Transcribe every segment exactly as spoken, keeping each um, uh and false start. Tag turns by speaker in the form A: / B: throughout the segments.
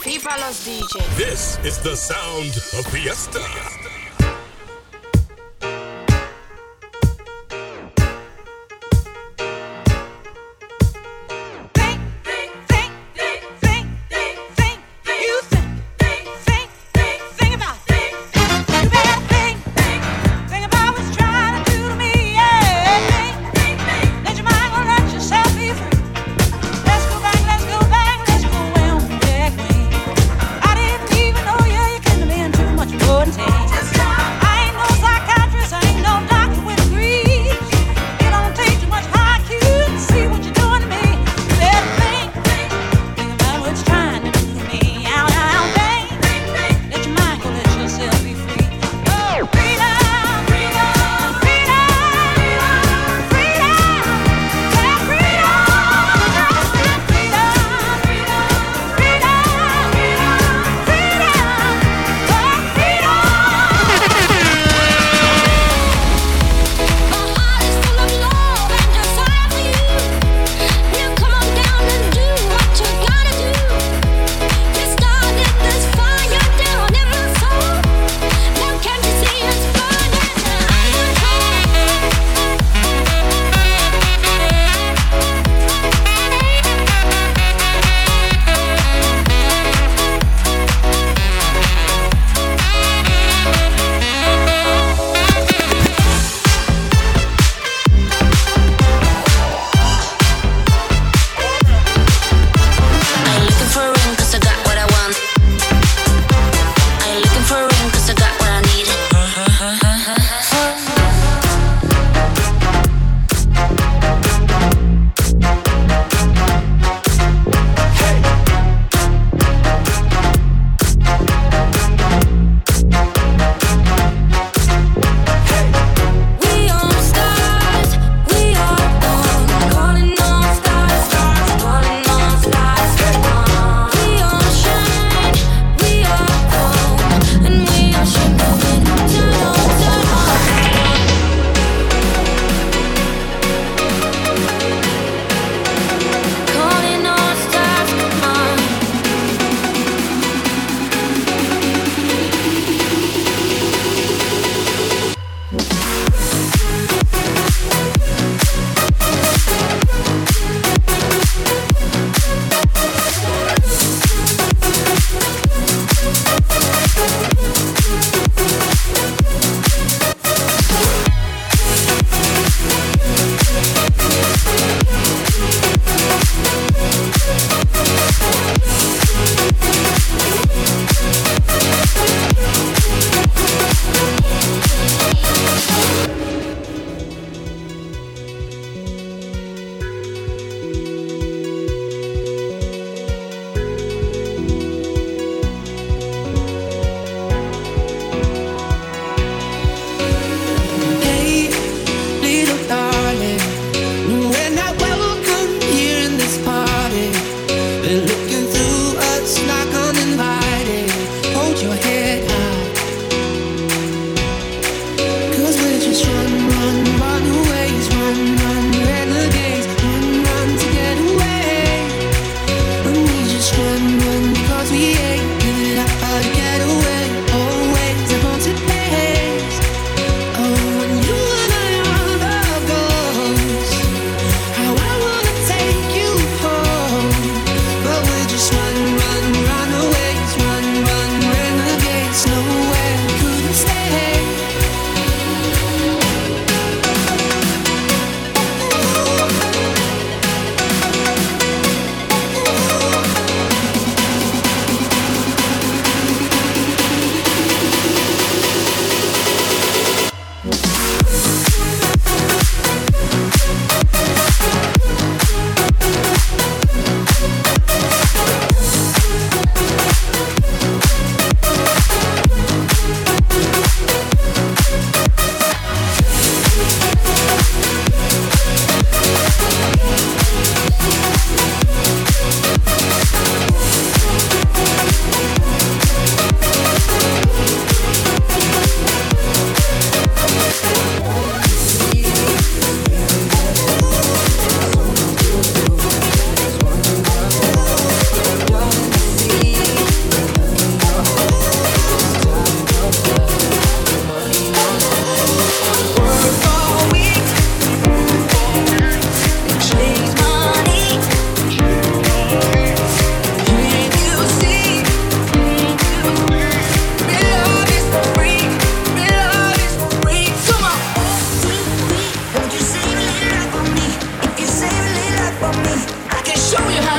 A: FIFA los D J.
B: This is the sound of Fiesta.
C: Just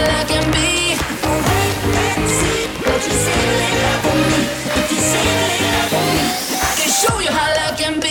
A: love can be. Oh, wait, let's see. Won't you say a little love for me? If you say a little love for me, I can show you how love can be.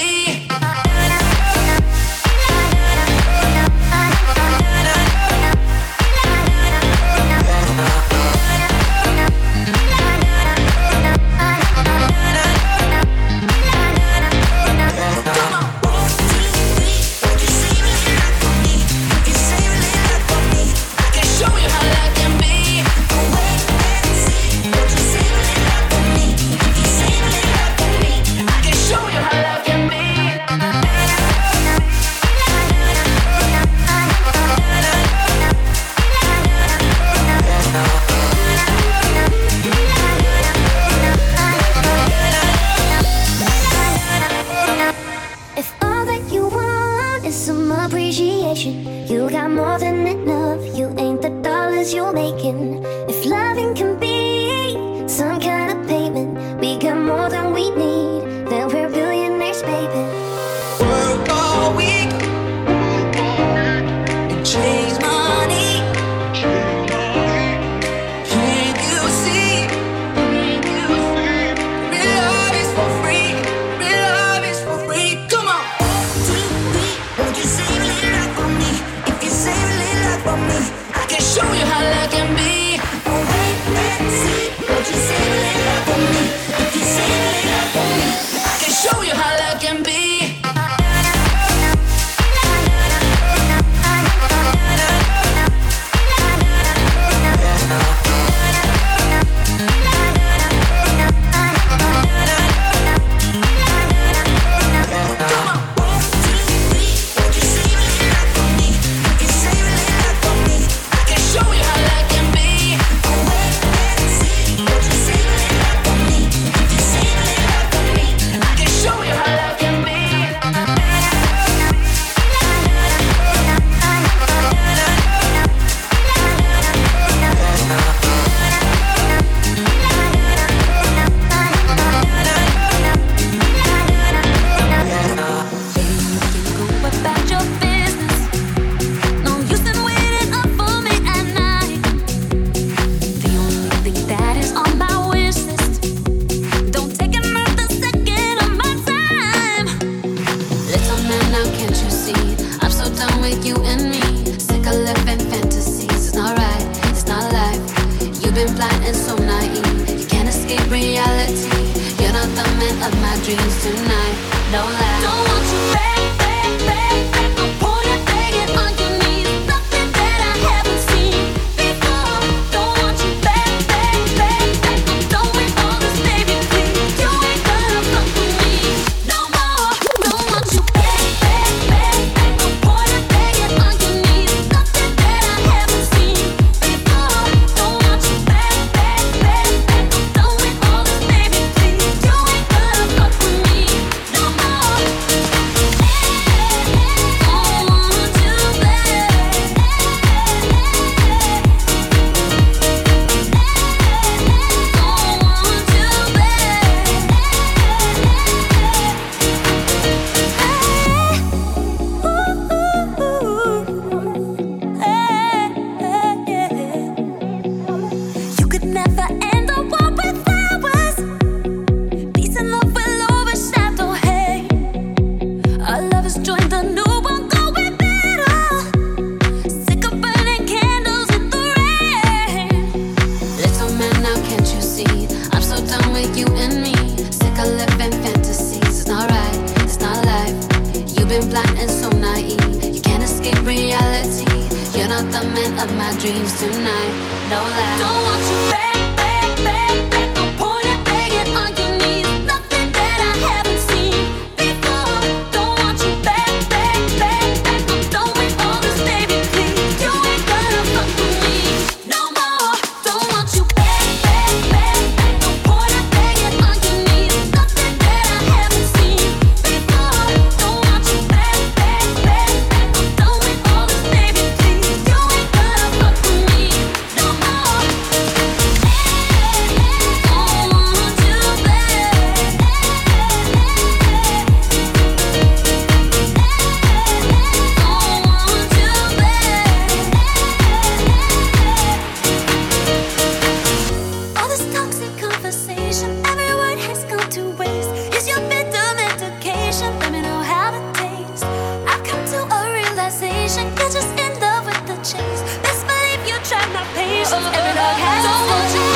C: You got more than enough. You ain't the dollars you're making. If loving can be some kind of payment, we got more than we need. Then we're billionaires, baby.
A: Work all week and chase money. Can't you see? Real love is for free. Real love is for free. Come on. Too weak. Won't you save a little love for me? If you save a little love for me, I can show you how love can be. Oh, wait, let's see. Won't you save a little love for me? If you save a little love for me, I can show you how love can be.
C: Don't
A: Every dog has a stone.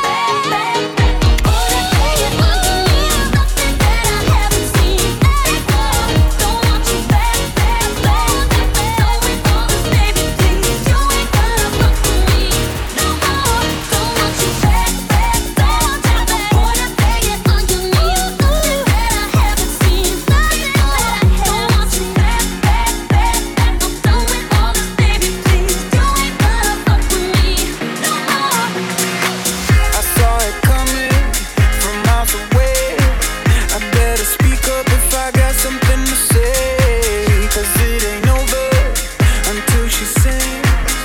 A: All that hanging underneath, nothing that I haven't seen. Don't want you back, back, back, back. Going all this, baby, please. You ain't gonna fuck with me no more. Don't want you back, back, back, back. All that hanging underneath, nothing that I haven't seen. Don't want you back, back, back, back. I'm done with all this, baby, please. You ain't gonna fuck with me no more.
D: I saw it coming from miles away. I better speak up if I got something to say. Cause it ain't over until she sings.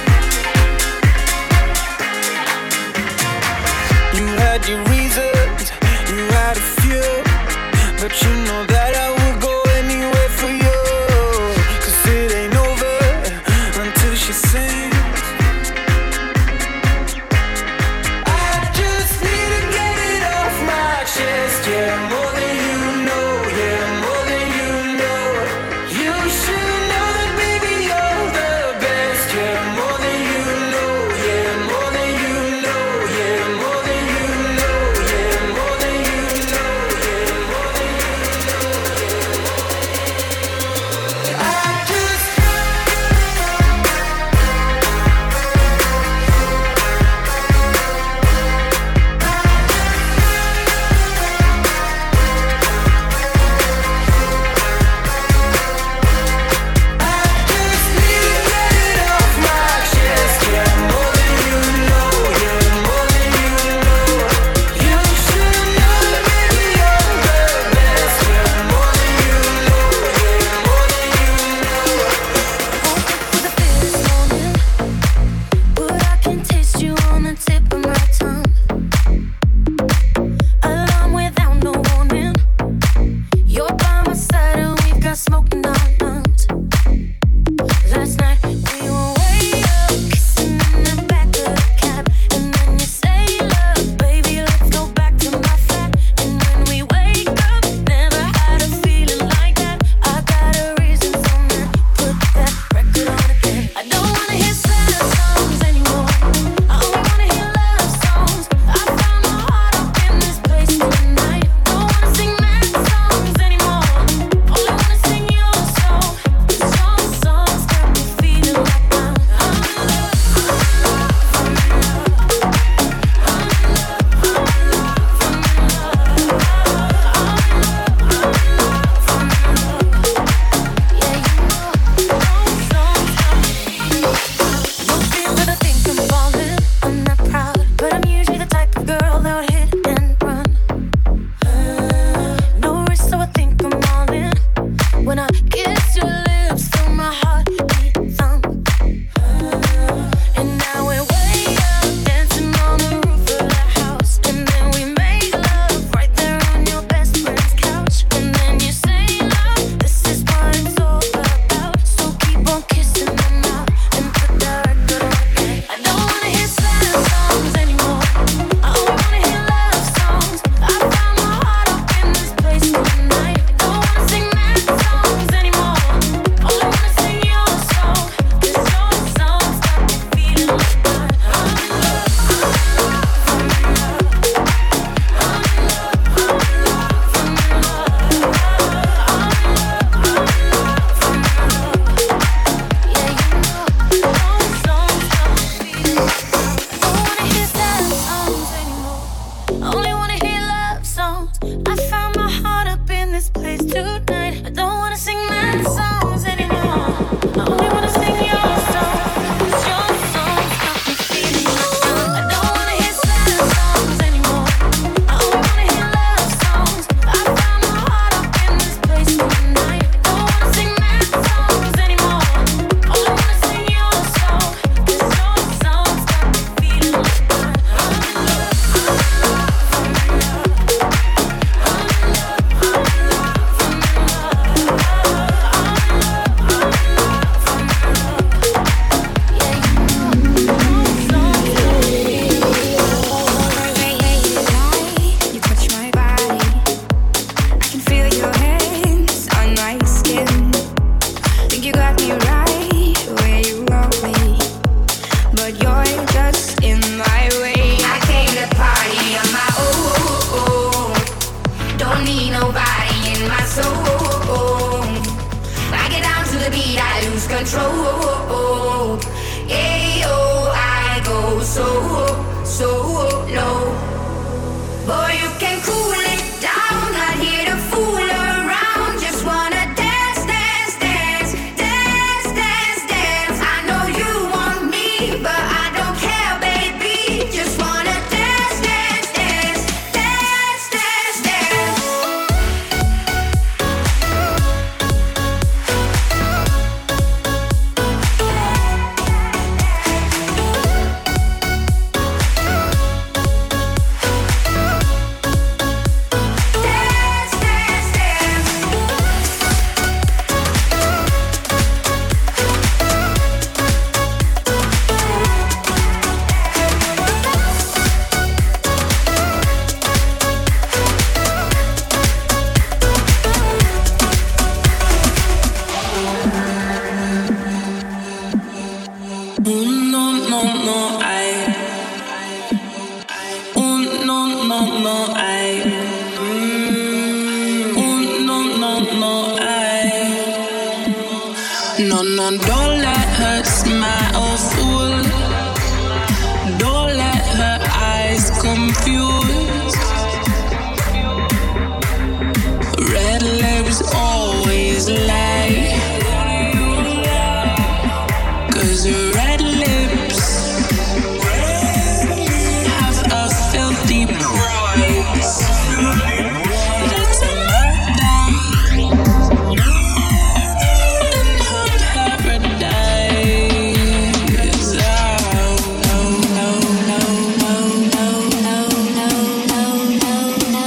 D: You had your reasons, you had a few, but you know that I would go anywhere for you. Cause it ain't over until she sings. I just need to get it off my chest. Yeah, more than you know. Yeah, more than you know. You should know that, baby, you're the best. Yeah, more than you know. Yeah, more than you know. Yeah, more than you know. Yeah, more than you know. Yeah, more than you know.
A: so low. Boy, you can cool it down, not here to fool around. Just wanna dance, dance, dance, dance, dance, dance. I know you want me, but I don't care, baby. Just wanna dance, dance, dance, dance, dance, dance. Dance, dance, dance.
E: Oh no no no I Oh no no no I mm, Oh no no no I No no don't let her smile fool. Don't let her eyes confuse. Red lips always lie. Cause red lips have a filthy price. That's a murder in her paradise. Oh, no, no, no, no, no, no, no, no, no,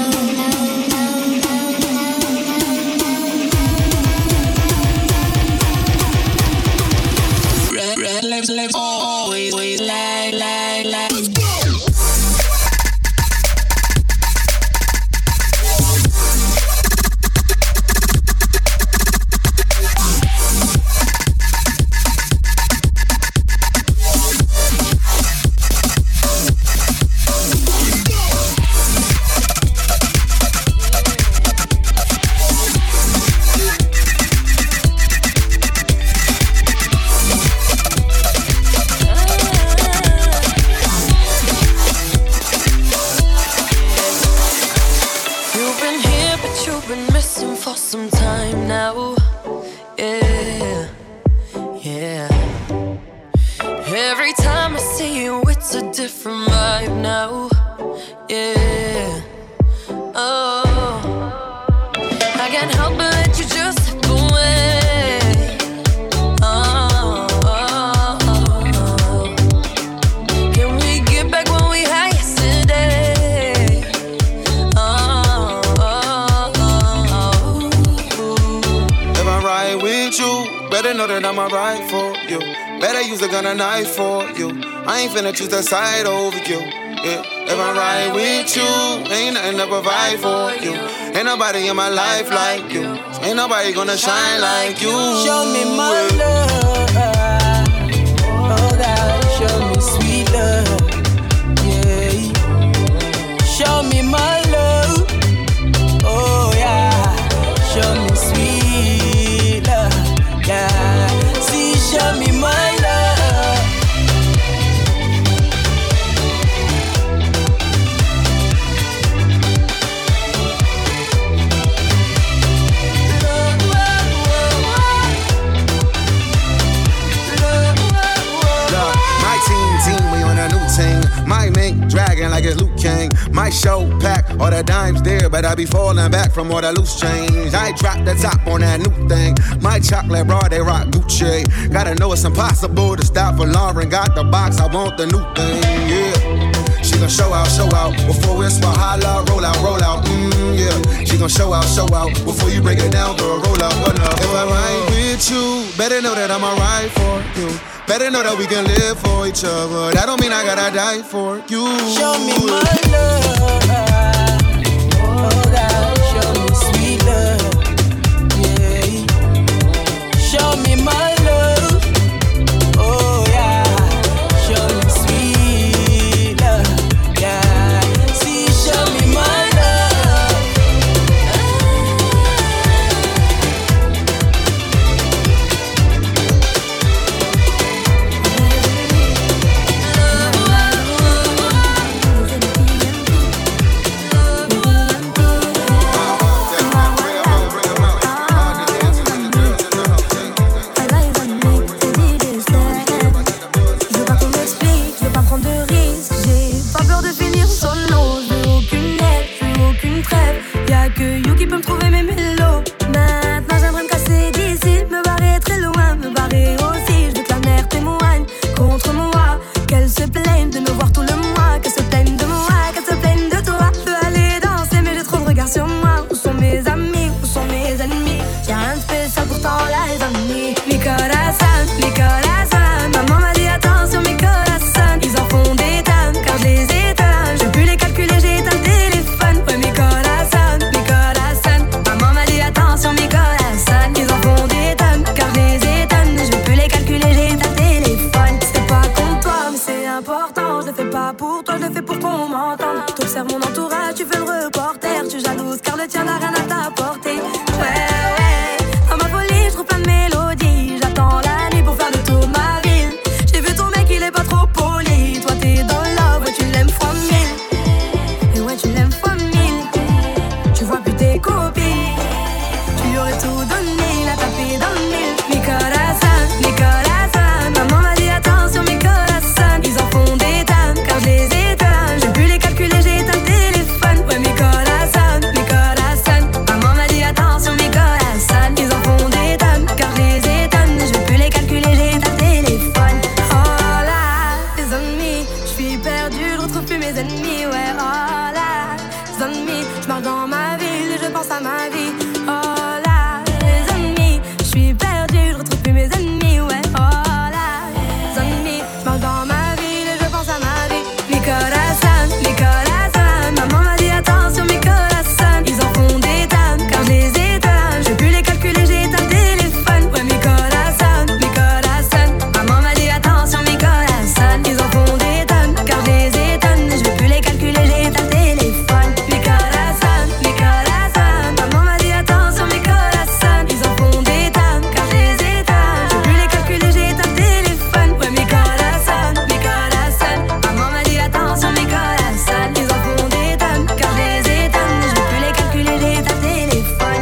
E: Red, red lips, lips, always, always lie, lie, lie.
F: You've been here, but you've been missing for some time now. Yeah, yeah. Every time I see you, it's a different vibe now. Yeah, oh. I can't help but let you just slip away. Oh, oh, oh. Can we get back when we had yesterday? Oh, oh, oh, oh.
G: If I ride with you, better know that I'ma ride for you. Better use a gun and knife for you. I ain't finna choose a side over you. Yeah. If I ride with you, ain't nothing to provide for you. Ain't nobody in my life like you. Ain't nobody gonna shine like you.
D: Show me my love. Oh God, show me sweet love. Yeah. Show me my love. Oh yeah. Show me sweet love. Yeah. See, show me my love.
G: My team, team, we on a new team. My mink dragging like it's Luke King. My show pack, all the dimes there, but I be falling back from all the loose change. I drop the top on that new thing. My chocolate bra, they rock Gucci. Gotta know it's impossible to stop for Lauren. Got the box, I want the new thing, yeah. She gon' show out, show out before it's for holla, roll out, roll out, mm, yeah. She gon' show out, show out before you break it down, girl, roll out, roll out. If I ride with you, better know that I'ma ride for you. Better know that we can live for each other. That don't mean I gotta die for you.
D: Show me my love. Oh God, show me sweet love. Yeah. Show me my love. Oh yeah. Show me sweet love. Yeah. See, show me my love.
H: Y'a que You qui peut me trouver mes mélos. Maintenant j'aimerais me casser d'ici, me barrer très loin, me barrer aussi. Je veux que la mer témoigne contre moi, qu'elle se plaigne de me voir tout le mois, qu'elle se plaigne de moi, qu'elle se plaigne de toi. Je veux aller danser mais j'ai trop de regards sur moi. Où sont mes amis, où sont mes ennemis? J'ai rien de spécial pourtant là les amis. Mi corazón, mi corazón. Maman m'a dit attention mi corazón. Ils en font des tonnes car je les étonne. Je peux les calculer, j'ai éteint le téléphone. Ouais mi corazón, mi corazón. Maman m'a dit attention mi corazón. Ils en font des tonnes car je les étonne. Je peux les calculer, j'ai éteint le téléphone. C'est pas contre toi mais c'est important. Je le fais pas pour toi, je le fais pour qu'on m'entende. T'observes mon entourage, tu fais le reporter. Tu jalouse car le tien n'a rien à t'apporter. Ouais ouais, dans ma folie je trouve plein de mélodies. J'attends la nuit pour faire le tour de ma ville. J'ai vu ton mec il est pas trop poli. Toi t'es dans love, ouais tu l'aimes fois mille. Et ouais tu l'aimes fois mille. Tu vois plus tes copines. Tu lui aurais tout donné, il a tapé dans le mille. Mi corazón, mi corazón. Maman m'a dit attention mi corazón. Ils en font des tonnes car je les étonne. J'ai pu les calculer, j'ai éteint le téléphone. Ouais mi corazón, mi corazón. Maman m'a dit attention mi corazón. Ils en font des tonnes car je les étonne. Je peux les calculer, j'ai éteint le téléphone. Oh là, les ennemis, je suis perdu, je retrouve plus mes ennemis. Ouais, oh là, les ennemis, je marche dans ma ville et je pense à ma vie. Oh là, les ennemis, je suis perdu, je retrouve plus mes ennemis. Ouais, oh là, les ennemis, je marche dans ma ville et je pense à ma vie. Mi corazón, mi corazón. Maman m'a dit attention mi corazón. Ils en font des tonnes car je les étonne. Je peux les calculer, j'ai éteint le téléphone. Ouais mi corazón, mi corazón. Maman m'a dit attention mi corazón. Ils en font des tonnes car je les étonne. Je peux les calculer, j'ai éteint le téléphone. Mi corazón, mi corazón. Maman m'a dit attention mi corazón. Ils en font des tonnes car je les étonne. Je peux les calculer, j'ai éteint le téléphone. Ouais mi corazón, mi corazón. Maman m'a dit attention mi corazón. Ils en font des tonnes car je les étonne. Je peux les calculer, j'ai éteint le téléphone.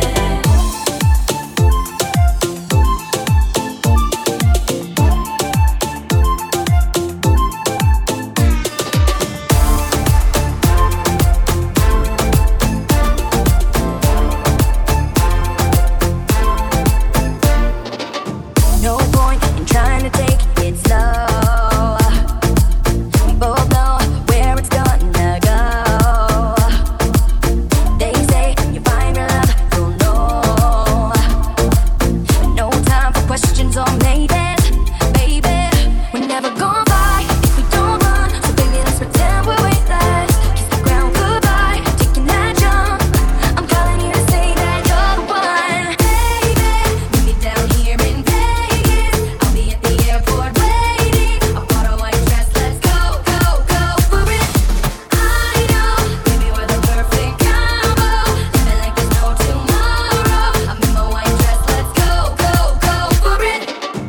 I: No point in trying to take it slow. We both know where it's gonna go. They say you find your love, you'll know. No time for questions or maybes, baby. We're never gonna fight if we don't run. So baby, let's pretend we're weightless. Kiss the ground goodbye, taking that jump. I'm calling you to say that you're the one, baby. Meet me down here in Vegas. I'll be at the airport waiting. I bought a white dress, let's go, go, go for it. I know, baby, we're the perfect combo. Living like there's no tomorrow. I'm in my white dress, let's go, go, go for it.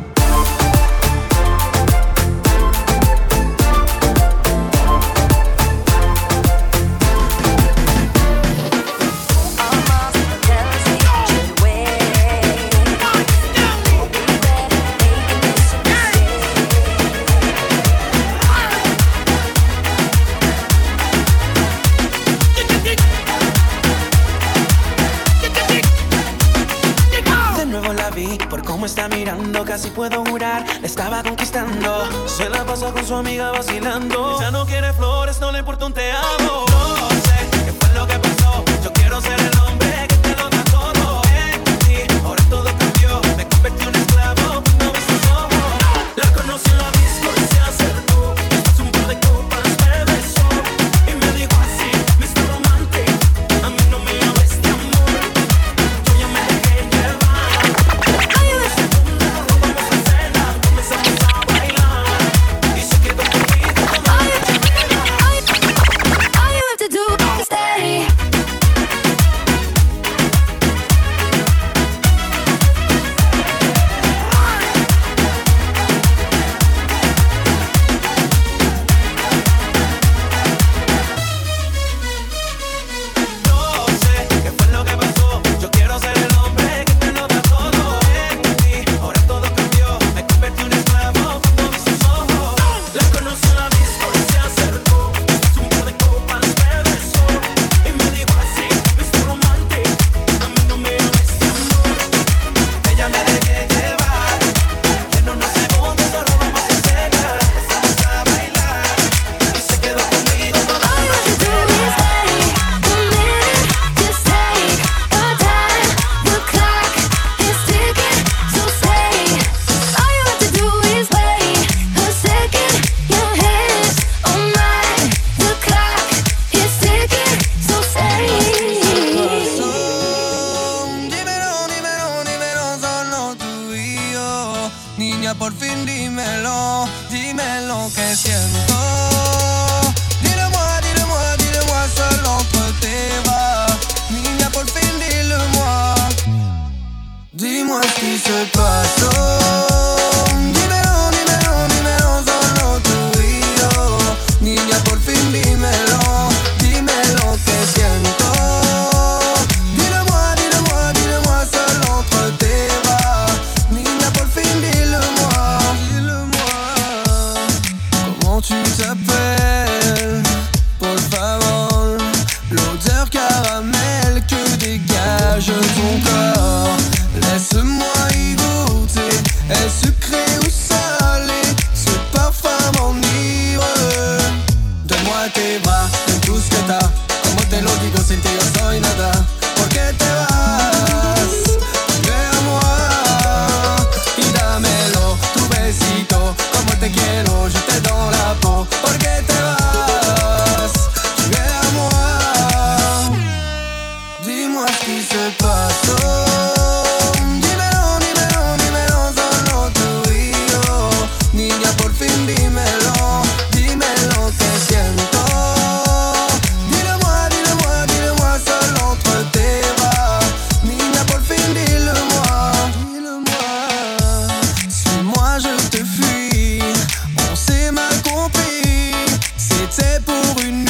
J: De nuevo la vi, por cómo está mirando, casi puedo jurar, la estaba conquistando. Se la pasa con su amiga vacilando. Ella no quiere flores, no le importa un te amo. No sé qué fue lo que pasó. Yo quiero ser el hombre que te lo da todo. En ti, ahora todo cambió. Me convertí en un esclavo, no ves sus ojos. La conocí en la disco y se acercó. Después un par de copas me besó y me dijo así, mister Romantic, a mí no me hables de amor. Yo ya me dejé llevar. Segunda, vamos a cena, comenzamos a bailar y se quedó conmigo como una chimera.
K: Donne-moi tes bras, donne tout ce que t'as. Como te lo digo sin ti yo soy nada. ¿Por qué te vas? Ven a moi y dámelo, tu besito. Como te quiero, je te donne la peau. ¿Por qué te vas? Ven a moi. Dis-moi ce qui se passe. Oh, dímelo, dímelo, dímelo, solo tú y yo. Niña, por fin dímelo, dime lo que siento. Dis-le-moi, dis-le-moi, dis-le-moi, seul entre tes bras. Niña, por fin dis-le-moi, dis-le-moi. Suis-moi, je te fuis, on s'est mal compris. C'était pour une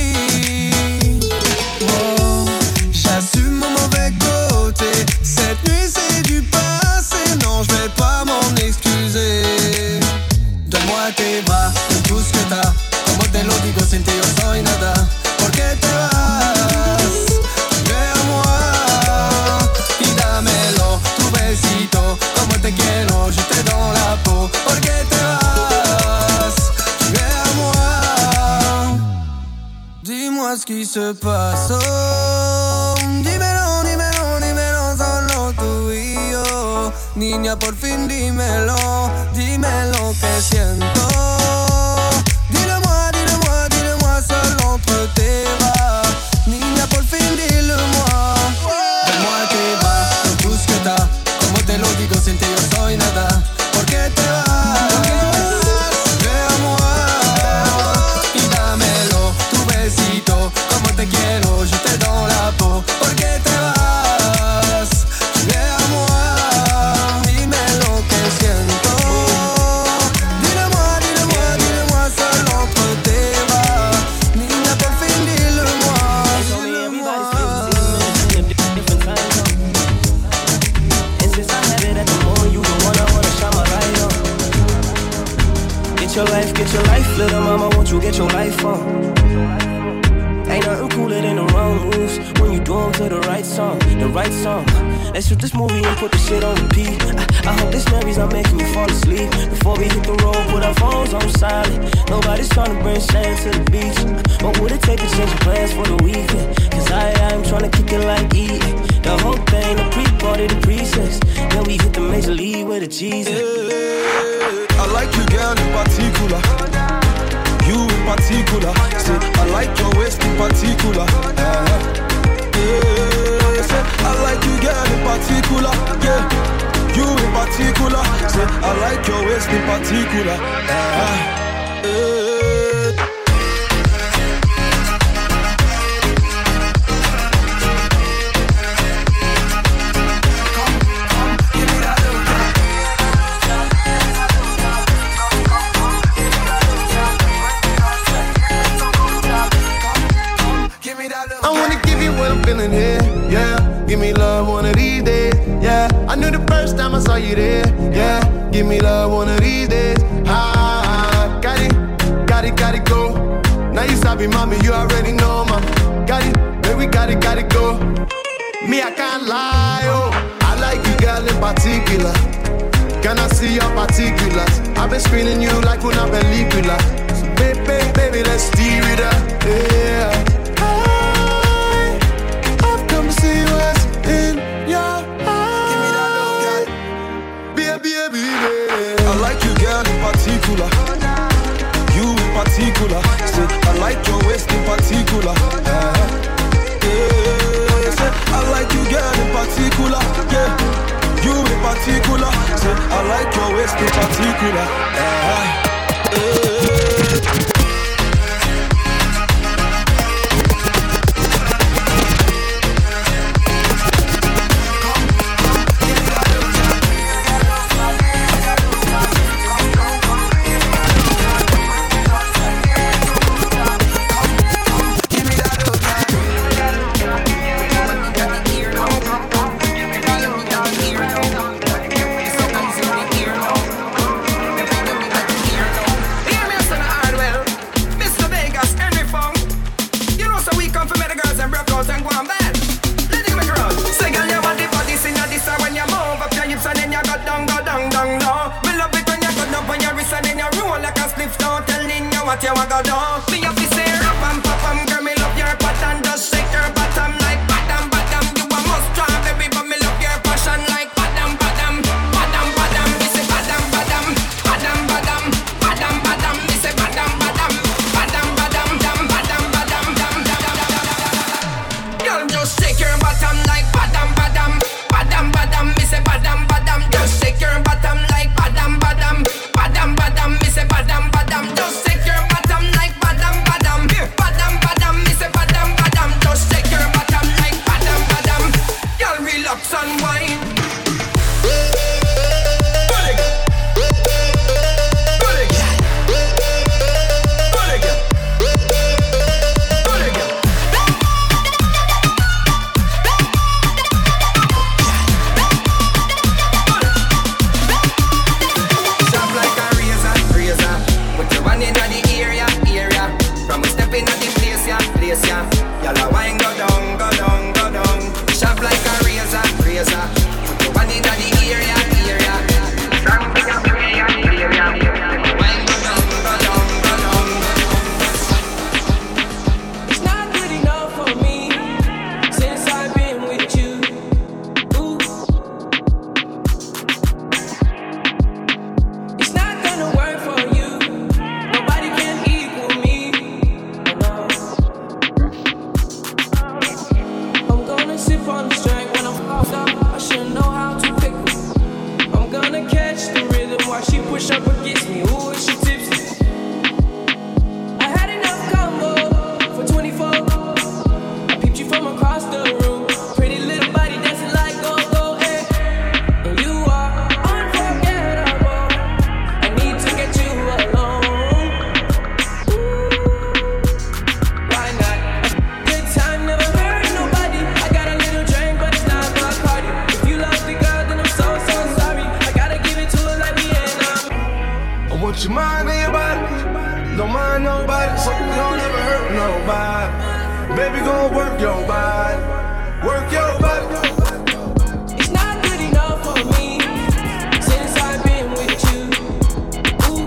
K: nuit. Oh, j'assume mon mauvais côté. Cette nuit c'est du passé, non je vais pas m'en excuser. Donne-moi tes bras, donne tout ce que t'as. Como te lo digo sin ti yo soy nada. ¿Por qué te vas? Ven a moi y dámelo, tu besito. Como te quiero, je te donne la peau. ¿Por qué te vas? Ven a moi. Dis-moi ce qui se passe. Oh, dímelo, dímelo, dímelo, solo tú y yo. Niña, por fin dímelo, dime lo que siento. Dis-le-moi, dis-le-moi, dis-le-moi, seul entre tes bras. Niña, por fin dis-le-moi. Donne-moi tes bras, donne tout ce que t'as. Como te lo digo sin ti yo soy nada. ¿Por qué te vas? Ven a moi y dámelo, tu besito. Como te quiero, je te donne la peau. ¿Por qué te vas? Ven a moi, dime lo que siento. Dis-le-moi, dis-le-moi, dis-le-moi, seul entre tes bras. Niña, por fin dis-le-moi, dis-le-moi.
J: And since I have it at the moment, you the one I wanna shine my light on. Get your life, get your life, little mama, won't you get your life on? Ain't nothing cooler than the wrong moves when you do them to the right song, the right song. Let's shoot this movie and put the shit on repeat. I, I hope this memories are making you fall asleep. Before we hit the road, put our phones on silent. Nobody's trying to bring shame to the beach. What would it take to change your plans for the weekend? Cause I, I'm trying to kick it like eating. The whole thing, the pre-party, the pre-sex. Then we hit the major league with the cheese.
K: I like you, girl, in particular. You in particular. Say, I like your waist in particular. Uh-huh. Yeah. Say, I like you, girl, in particular. Yeah. You in particular. Say, I like your waist in particular. Uh-huh. Yeah. Feeling here, yeah. Give me love one of these days, yeah. I knew the first time I saw you there, yeah. Give me love one of these days, ah. Got it, got it, got it, go. Now you sabi, mommy, you already know, ma. Got it, baby, got it, got it, go. Me, I can't lie, oh. I like you, girl, in particular. Can I see your particulars? I've been screening you like una película. So, baby, baby, let's steer it up, yeah. See what's in your eyes. Baby, baby, baby. I like you, girl, in particular. You in particular. Say, I like your waist in particular. Uh-huh. Yeah. Say, I like you, girl, in particular. Yeah. You in particular. Say, I like your waist in particular. Uh-huh. Yeah.
L: What you want to do? Me have to say Baby, gon' work your body. Work your body.
M: It's not good enough for me since I've been with you. Ooh.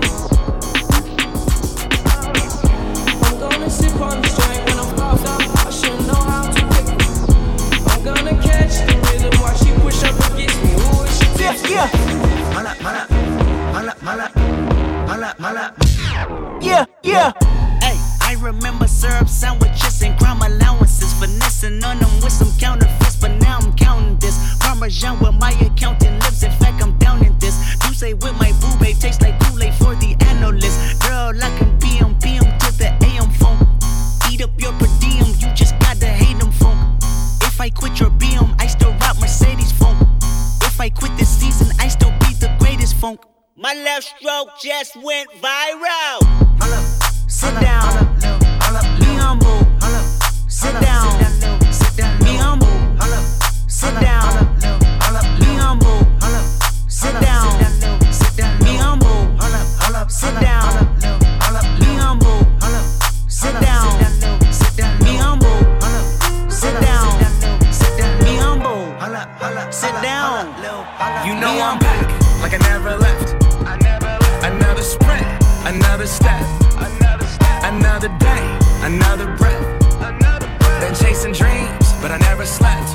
M: I'm gonna sip on the strength when I'm popped up. I should know how to pick it. I'm gonna catch the rhythm while she push up against me. Ooh, she
N: yeah, yeah.
M: Mala,
N: mala, mala, mala, mala, mala. Yeah, yeah.
O: Hey, I remember syrup sandwiches and crime allowances, finessing on them with some counterfeits, but now I'm counting this. Parmesan where my accountant lives, in fact I'm down in this. You say with my boo babe, tastes like Kool-Aid for the analyst. Girl, I can be on P M to the A M phone. Eat up your per diem, you just gotta hate them phone. If I quit your B M, I still rock Mercedes phone. If I quit this season, I still be the greatest funk. My left stroke just went viral. Sit down, be humble. Sit down, be humble. Sit down, be humble. Sit down, be humble. Sit down, be humble. Sit down, be humble. Sit down, be humble. Sit down.
J: You know I'm back, like I never left. Another sprint, another step, another day, another breath. Been chasing dreams, but I never slept.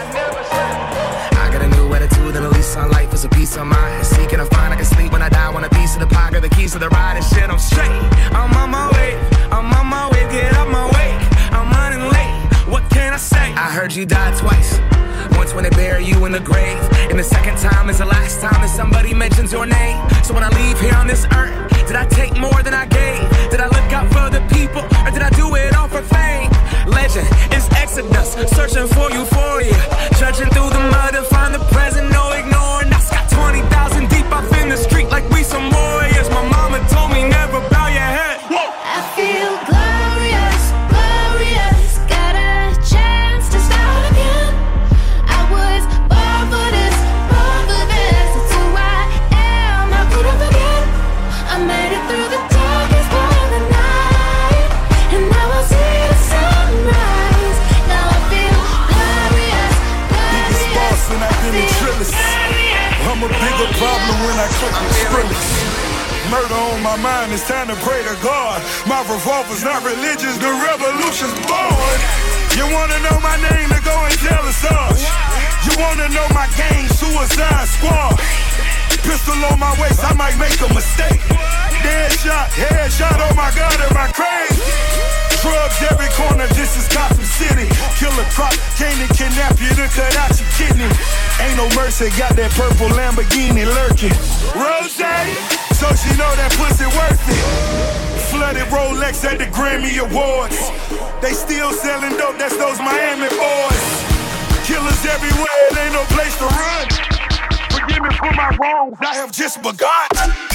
J: I got a new attitude and a lease on life is a peace of mind. Seeking to find I can sleep when I die. Want a piece of the pie, got the keys to the ride and shit. I'm straight. I'm on my way. I'm on my way. Get up my way. I'm running late. What can I say? I heard you died twice. Once when they bury you in the grave, and the second time is the last time that somebody mentions your name. So when I leave here on this earth, did I take more than I gave? Did I look out for the people, or did I do it all for fame? Legend is Exodus, searching for euphoria, trudging through the mud to find the present, no ignoring. I got twenty thousand deep off in the street like we some warriors. My mama told me never bow your head. Whoa.
C: I feel glorious, glorious. Got a chance to start again. I was born for this, born for this. It's who I am, I couldn't forget. I made it through the darkest part of the night, and now I see the sunrise. Now I feel glorious, glorious.
P: Biggest boss and I've been a trillist. I'm a bigger problem when I cook the sprillers. Murder on my mind, it's time to pray to God. My revolver's not religious, the revolution's born. You wanna know my name, then go and tell us us. You wanna know my gang, Suicide Squad. Pistol on my waist, I might make a mistake. Dead shot, head shot, oh my God, am I crazy? Drugs every corner, this is Gotham City. Killer Croc, came to kidnap you to cut out your kidney. Ain't no mercy, got that purple Lamborghini lurking. Rose, so she know that pussy worth it. Flooded Rolex at the Grammy Awards. They still selling dope, that's those Miami boys. Killers everywhere, it ain't no place to run. Forgive me for my wrongs, I have just begun.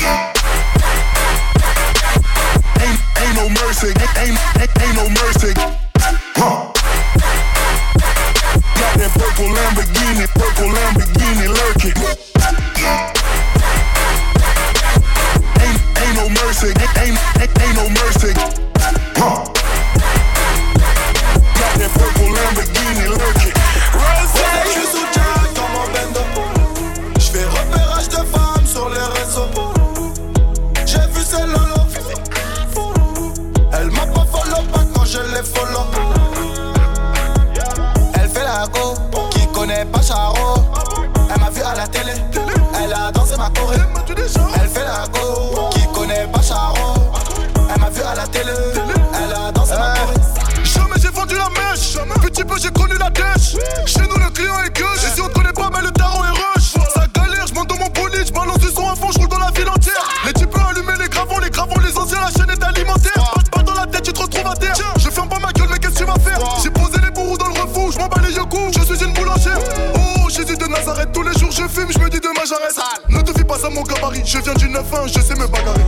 P: Ain't, ain't no mercy, ain't, ain't, ain't no mercy. Huh. Got that purple Lamborghini, purple Lamborghini lurking. Ain't, ain't no mercy, ain't, ain't, ain't no mercy. Huh. Got that purple Lamborghini lurking.
K: Je suis sous Jack dans mon bendo. J'fais repérage de femmes sur les réseaux. J'ai vu ses lolo. Elle m'a pas follow pas quand je l'ai follow. Elle fait la go, qui connaît pas Charo. Elle m'a vu à la télé, elle a dansé ma choré. Elle fait la go, qui connaît pas Charo. Elle m'a vu à la télé, elle a dansé ma choré.
P: Jamais j'ai vendu la mèche, petit peu j'ai connu la dèche. Chez nous le client est gueule, et si on connaît pas mais le tarot est rush. Ça galère, j'monte dans mon bolide, j'balance du son à fond, j'roule dans la ville entière. Les types allumés, les gravons, les gravons, les anciens, la chaîne est alimentaire. Pas de balle dans la tête, tu te retrouves à terre. Je ferme pas ma gueule, mais qu'est-ce que tu vas faire? J'ai posé les bourreaux dans le refou, j'm'en bats les yeux-coups, je suis une boulangère. Oh, Jésus de Nazareth, tous les jours je fume, j'me dis demain j'arrête. Ne te fie pas à mon gabarit, je viens du neuf un, je sais me bagarrer.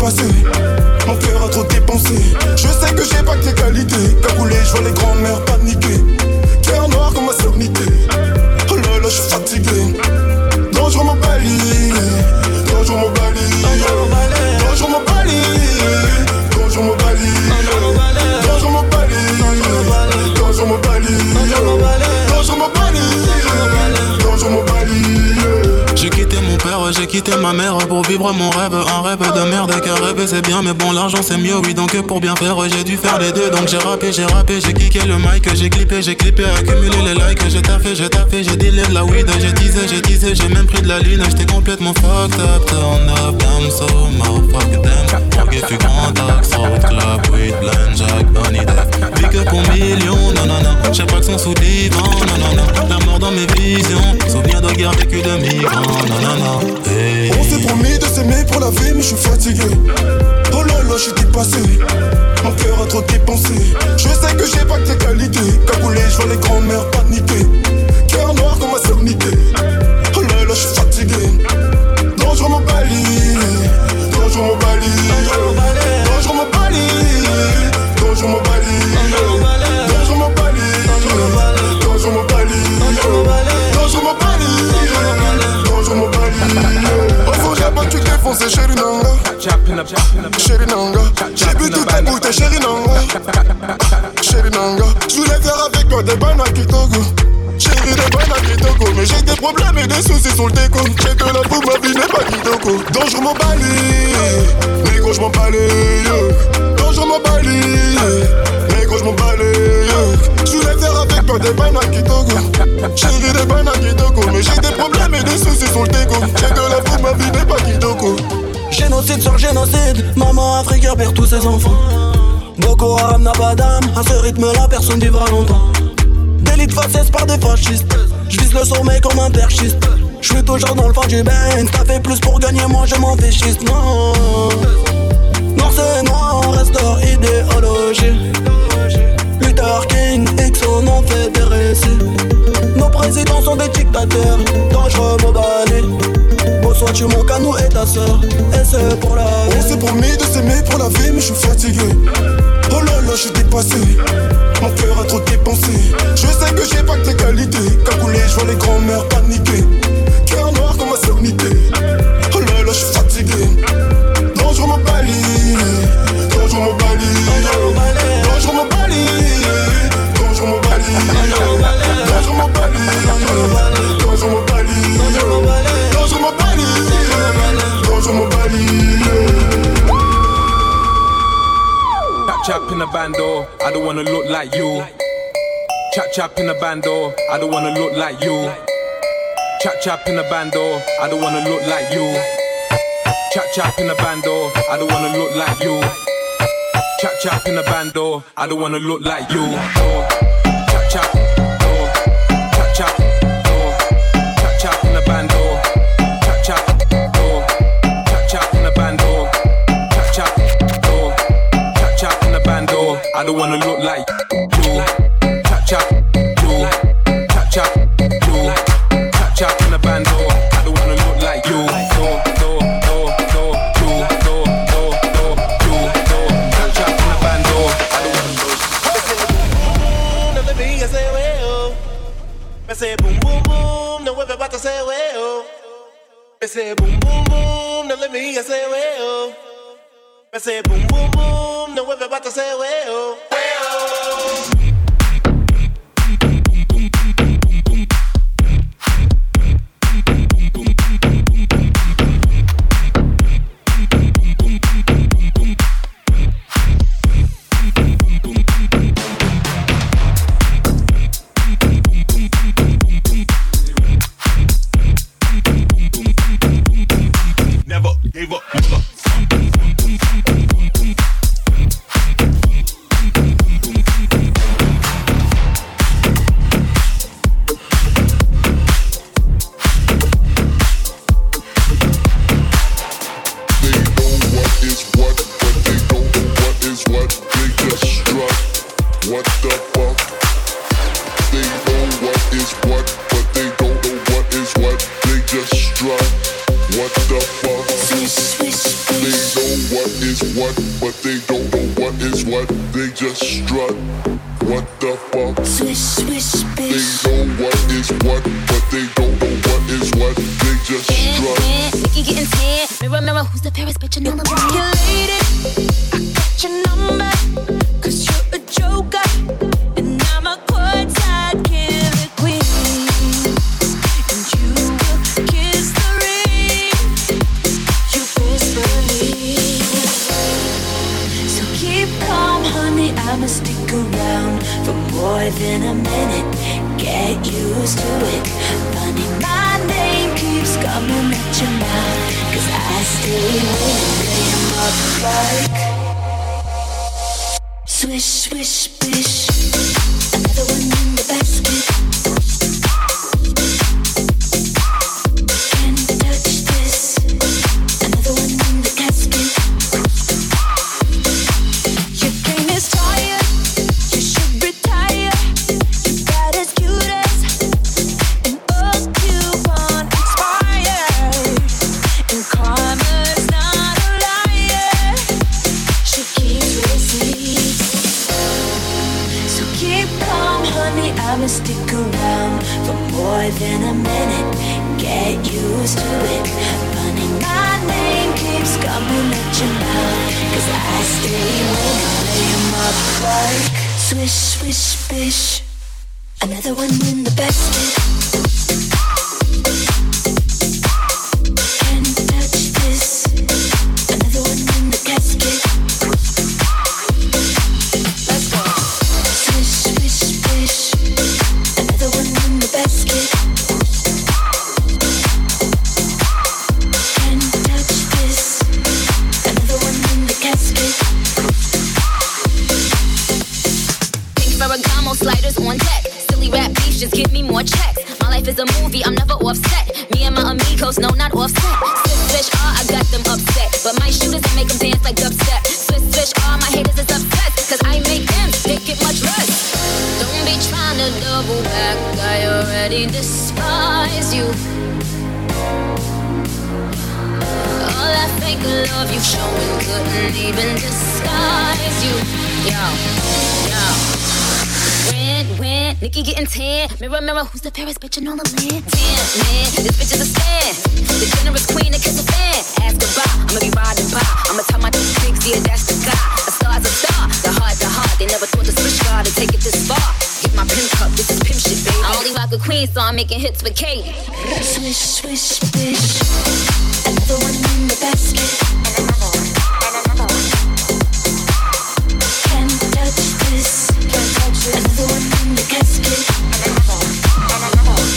Q: dépassé. Mon cœur a trop dépensé. Je sais que j'ai pas que tes qualités. Cagoulé, je vois les grands-mères paniquer. Cœur noir comme ma sernité. Oh là là, je suis fatigué. Dangereux mon bali. Dangereux mon bali. Dangereux mon bali. Dangereux mon bali. Dangereux mon bali. Dangereux mon bali. Dangereux mon bali. Dangereux mon bali.
J: J'ai quitté mon père, j'ai quitté ma mère pour vivre mon rêve. Un rêve de merde, car rêver c'est bien, mais bon l'argent c'est mieux, oui. Donc pour bien faire, j'ai dû faire les deux. Donc j'ai rappé, j'ai rappé, j'ai kické le mic, j'ai clippé, j'ai clippé, accumulé les likes. J'ai taffé, j'ai taffé, j'ai dealé de la weed. J'ai teasé, j'ai teasé, j'ai même pris de la lune. J'étais complètement fucked up, turn up, damn so motherfuck them. Ok, fut contact, road club, weed, blind, jack, honey death. Vie que pour millions, non non non. J'ai pas que son sous divan, non non non. La mort dans mes visions, souvenir de guerre vécu de migrants, non non non. Hey.
Q: On s'est promis de s'aimer pour la vie, mais je suis fatigué. Oh là là, je suis dépassé. Mon cœur a trop dépensé. Je sais que j'ai pas que tes qualités. Cagoulé, je vois les grands-mères paniquer. Cœur noir comme ma sernité. Oh là là, je suis fatigué. Dangereux mon bali. Dangereux mon bali. Dangereux mon bali. Dangereux mon bali. Dangereux mon bali. Dangereux mon bali. Dangereux mon bali. Dangereux mon bali. Au fond, j'ai pas que tu t'es foncé, chérie Nanga. Chérie Nanga. J'ai bu toute ta bouteille, chérie Nanga. Chérie Nanga. Je voulais faire avec toi des bananes qui togo. Chérie, des bananes qui togo. Mais j'ai des problèmes et des soucis sur le déco. J'ai de la boue, ma vie n'est pas kitoko. Dangereux mon bali. Négro, je m'en balais. Dangereux mon bali. Négro, je m'en balais. Je voulais faire avec toi des bananes qui togo. Chérie, des bananes qui togo. Mais j'ai des problèmes et des soucis sur le déco. J'ai de la boue, ma vie n'est pas kitoko.
R: Génocide sur génocide, maman africaine perd tous ses enfants. Boko Haram n'a pas d'âme, à ce rythme-là personne vivra longtemps. Délit de faciès par des fascistes, j'vise le sommet comme un perchiste. J'suis toujours dans le fond du bain, t'as fait plus pour gagner, moi je m'en fais schiste, non. Noir c'est noir, on restaure idéologie. Luther King, Exxon, on fait des récits. Nos présidents sont des dictateurs, dangereux mobali. Soit tu manques à nous et ta soeur, et c'est pour la vie.
Q: On s'est promis de s'aimer pour la vie, mais je suis fatigué. Oh là là, je suis dépassé. Mon cœur a trop dépensé. Je sais que j'ai pas que tes qualités. Cagoulé, je vois les grands-mères paniquer. Cœur noir comme ma sernité. Oh là là, je suis fatigué. Dangereux mon bali. Dangereux mon bali. Dangereux mon bali. Dangereux mon bali. Dangereux mon bali. Dangereux mon bali. Dangereux mon bali. Dangereux mon bali.
S: Chap chap in the bando, I don't wanna look like you. Chap chap in the bando, I don't wanna look like you. Chap chap in the bando, I don't wanna look like you. Chap chap in the bando, I don't wanna look like you. Chap chap in the bando, I don't wanna look like you. Oh, chap chap, oh, chap chap, oh, chap chap in the bando. Chap chap, oh, chap chap in the bando. Chap chap, oh, chap chap in the bando. I don't wanna look like you. Chap chap, you, chap chap, you, chap chap in the bando. I don't wanna look like you. Oh, oh, oh, oh, you, oh, oh, oh, you, oh, chap chap in the bando. I don't wanna look.
T: No let me say well. Me say boom boom boom. No everybody say well. Me say boom boom boom. No let me say well. Me say boom boom boom. No everybody say well. Well.
B: Never gave up, never.
U: What is what, but they don't know what is what. They just strut. What the fuck?
A: Swish, swish, bitch.
U: They know what is what, but they don't know what is what. They just strut.
A: Nikki getting tan. Mirror, mirror, who's the fairest bitch in all the world? You lady, I got your number, cause you're a joker, and I'm a courtside killer queen. And you will kiss the ring, you best believe. So keep calm, honey, I'ma stick around for more than a minute. Get used to it. Funny, my name keeps coming at your mouth, cause I stay winning, lay 'em up like swish, swish, bish. Another one in the basket. Can't touch this. Another one in the casket. Your game is tired. You should retire. You got as cute as an old coupon expired. And karma's not a liar. She keeps receipts. So keep calm, honey, I'ma stick around for more than a minute. Get used to it. Funny, my name keeps coming at your mouth, cause I stay winning, lay 'em up like swish, swish, bish. Another one in the basket. Can't touch this. Another one in the casket. Let's go. Swish, swish, bish. Another one in the basket. Can't touch this. Another one in the casket. Pink Ferragamo sliders on deck. Silly rap beef, just give me more checks. My life is a movie, I'm never offset. Me and my amigos, no, not offset. Swish, swish, ah, I got them upset. But my shooters, I make them dance like dubstep. Swish, swish, ah, my haters is obsessed, cause I make them, they get much less. Don't be trying to double back, I already despise you. All that fake love you showing couldn't even disguise you. Yo, yo. When, when, Nikki getting tan. Mirror, mirror, who's the fairest bitch in all the land? Tan, man, this bitch is a stand. The generous queen that kiss a fan. Ask goodbye, I'ma be riding by. I'ma tell my pigs, yeah, that's the guy. A star's a star, the heart, the heart. They never thought the switch guard to take it this far. Get my pimp cup, this is pimp shit, baby. I only rock a queen, so I'm making hits with Kate. Swish, swish, bitch. Another one in the basket. And another one, and another one. Can't touch this. Can't touch this. Another one in the casket. And another one, and another one.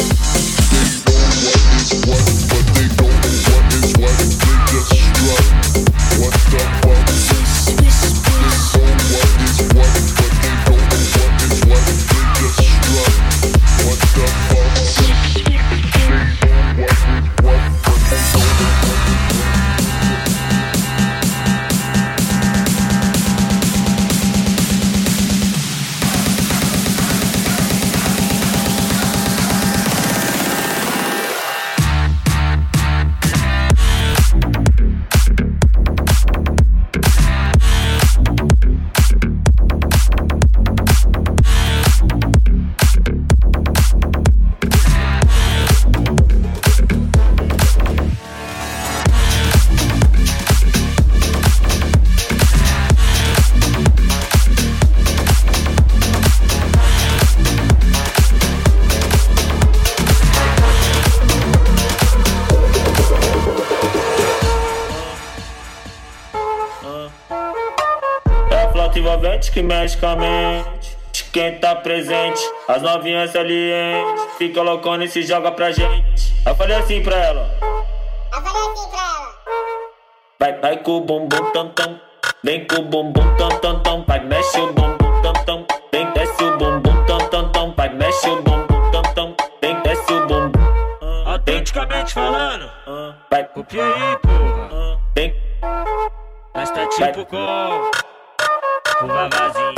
U: What, but they don't know what is what. They just strut. What the fuck?
A: Swish, swish, bitch.
U: They know what is what, but they don't know what is what. They just strut. What the fuck? They know what is what, but they don't know what is
V: envolvente que mexe com a mente de quem tá presente. As novinhas salientes fica loucona e se joga pra gente. Eu falei assim pra ela.
W: Eu falei assim pra ela.
V: Vai, vai com o bumbum tam tam. Vem com o bumbum tam tam tam. Vai, mexe o bumbum tam tam. Vem, desce o bumbum tam tam tam. Vai, mexe o bumbum tam tam. Vem, desce o bumbum.
X: Autenticamente falando,
V: vai,
X: copia aí, porra.
V: Vem,
X: mas tá tipo com o vavazinho.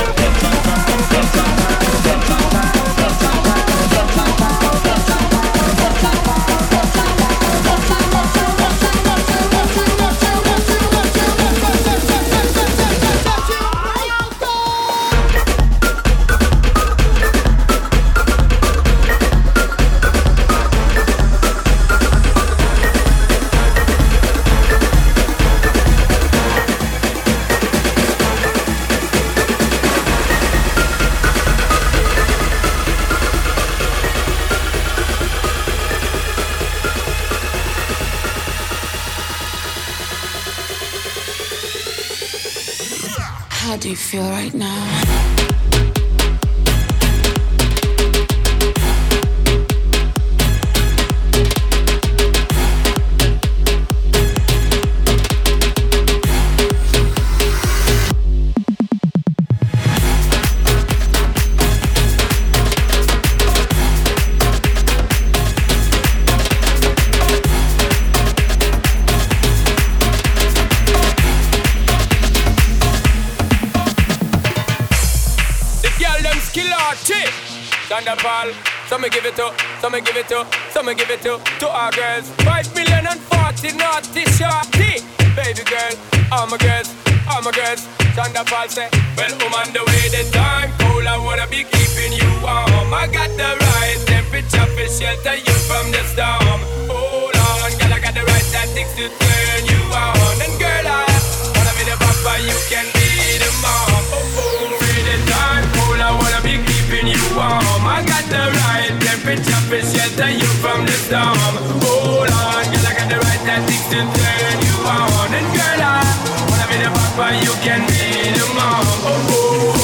D: How do you feel right now?
E: Thunderball, some me give it to, some me give it to, some me give it to, to our girls. Five million and forty naughty shorty, baby girl, all my girls, all my girls. Thunderball say, well, I'm on the way, the time cold, I wanna be keeping you warm. I got the right temperature for shelter you from the storm. Hold on, girl, I got the right tactics to turn you on. And girl, I wanna be the papa, you can be the mom. Oh, oh, the time cold, I wanna be keeping you warm. I got the right temperature for shelter you from the storm. Hold on, girl, I got the right tactics to turn you on. And girl, I wanna be the papa, you can be the mom. Oh, oh.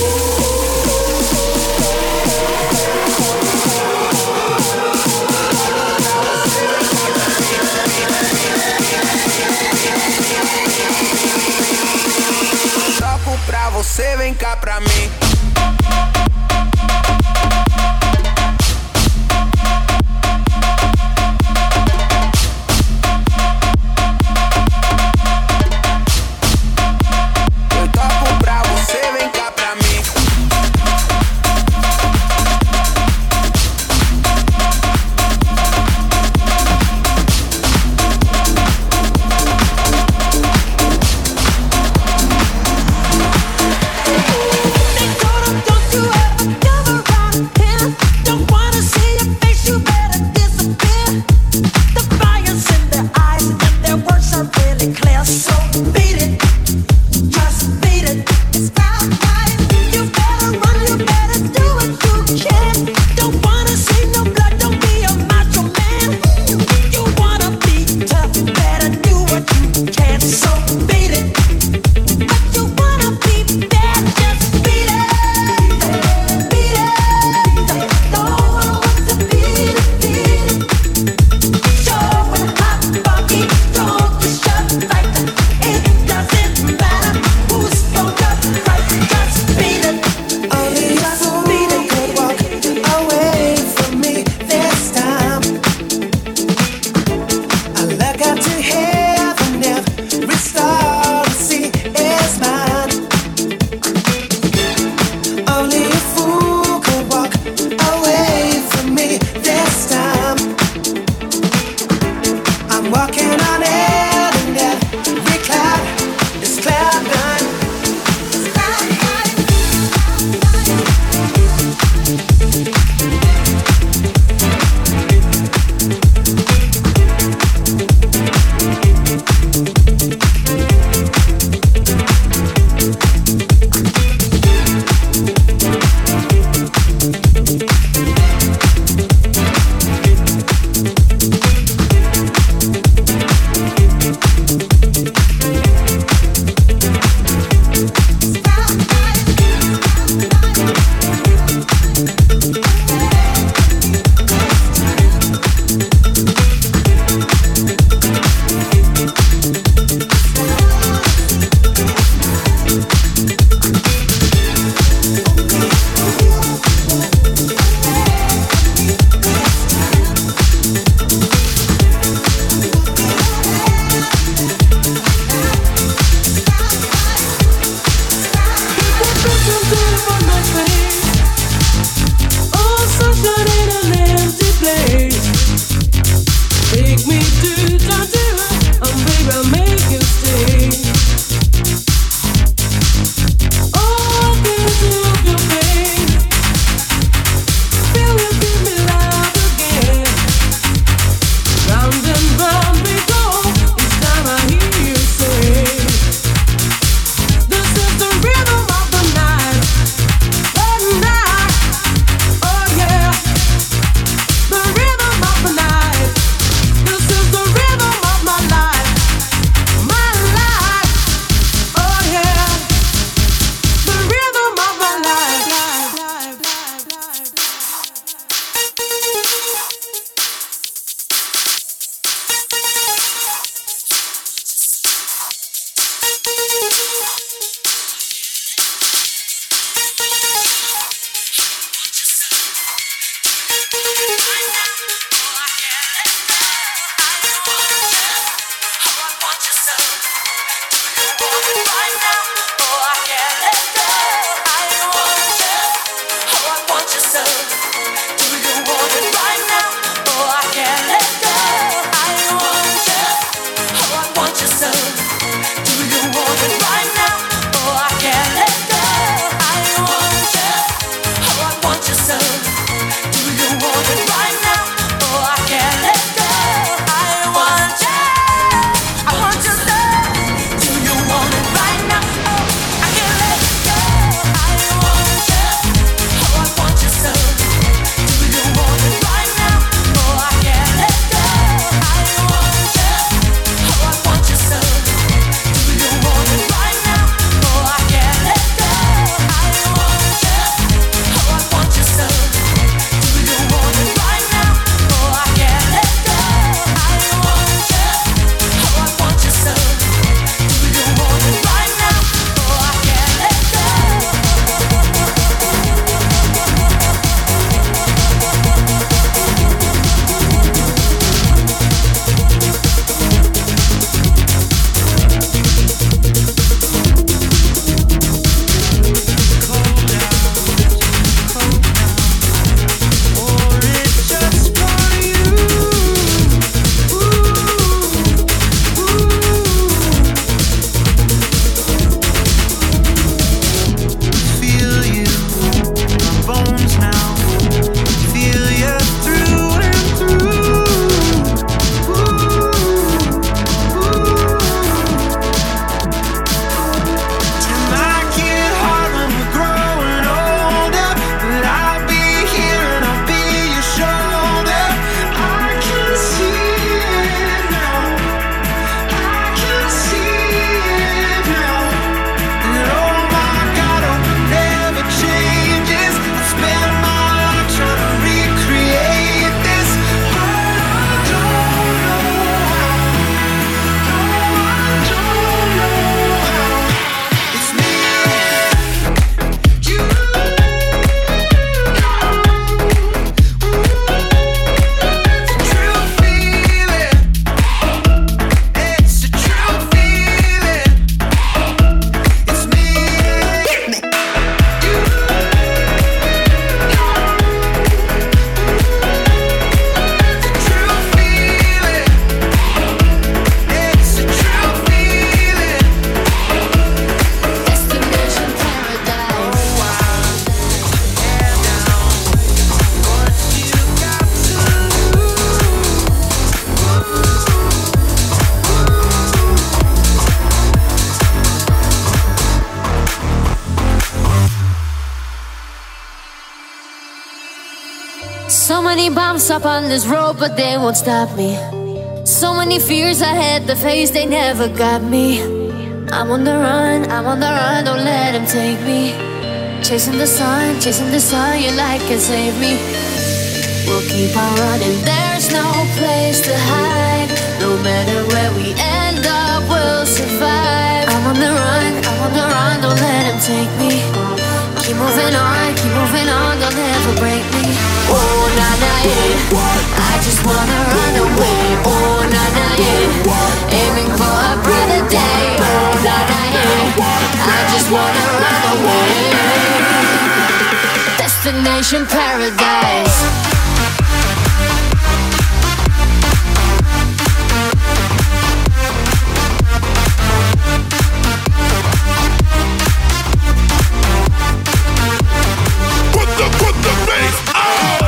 F: Toco pra você, vem cá pra mim.
A: Make want you so. Do you want it right now? Oh, I can't let go. I want you. Oh, I want you so. Do you want it right now? Oh, I can't let go. I want you. Oh, I want you so. Do you want it right now? Oh, I can't let go. I want you. I want you so. Do you want it right now? Oh, I can't let go. I want you. Oh, I want you so. Do you want it right now? Oh, I can't let go. I want you. Oh, I want you so. Do you want it right now? Oh, I can't let go. I want you. Oh, I want you so. Do you want it right now? Oh, I can't let go. I want you. Oh, I want you so. Do you want it right now? Oh, I can't let go.
J: Feel you, my bones now. Feel you through and through. It might get hard when we're growing older, but I'll be here and I'll be your shoulder. I can see it now. I can see it now. And oh my God, oh, never changes. I spend my life trying to recreate this, but I don't know how. No, I don't know how. It's me and you. True feeling. It's a true feeling. It's me and you. True feeling. It's a true feeling.
A: Destination paradise.
C: So many bumps up on this road, but they won't stop me. So many fears I had to face, they never got me. I'm on the run, I'm on the run, don't let them take me. Chasing the sun, chasing the sun, your light can save me. We'll keep on running, there's no place to hide. No matter where we end up, we'll survive. I'm on the run, I'm on the run, don't let them take me. Keep moving on, keep moving on, they'll never break me. Oh, na na, yeah, I just wanna run away. Oh, na na, yeah, aiming for a brighter day. Oh, na na, yeah, I just wanna run away. Destination paradise.
B: Put the, put the bass on.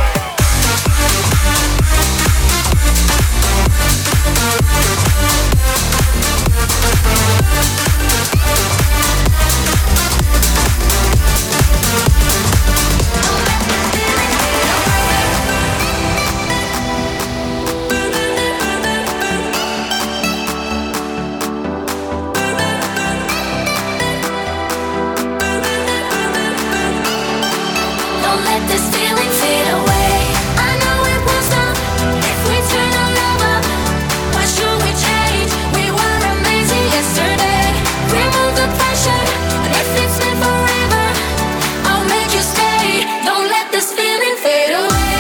C: Don't let this feeling fade away. I know it won't stop if we turn our love up. Why should we change? We were amazing yesterday. Remove the pressure, and if it's meant forever, I'll make you stay. Don't let this feeling fade away.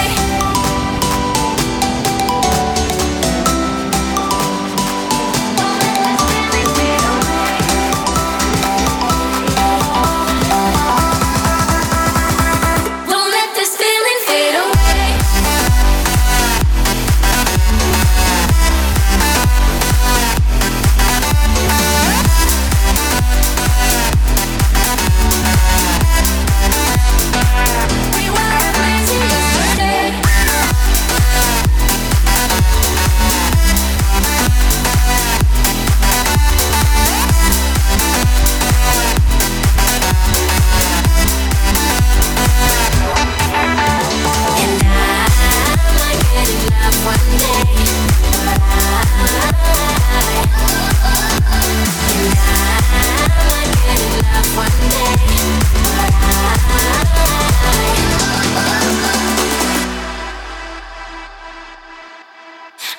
C: Don't let this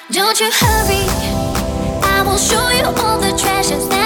C: Don't you hurry, I will show you all the treasures that